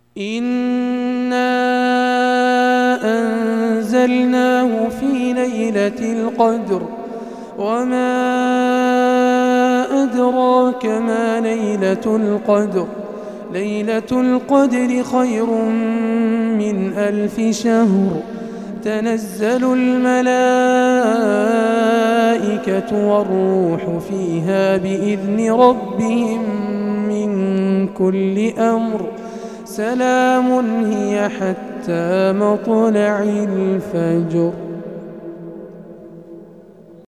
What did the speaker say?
إنا أنزلناه في ليلة القدر وما أدراك ما ليلة القدر ليلة القدر خير من 1000 شهر تنزل الملائكة والروح فيها بإذن ربهم من كل أمر سلام هي حتى مطلع الفجر.